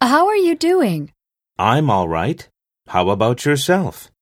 How are you doing? I'm all right. How about yourself?